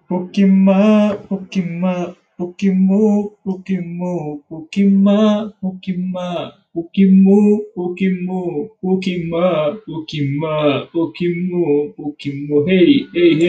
Pokima, Pokima, Pokimu, Pokimu, Pokima, Pokima, Pokimu, Pokimu, Pokima, Pokima, Pokimu, Pokimu. Hey, hey, hey.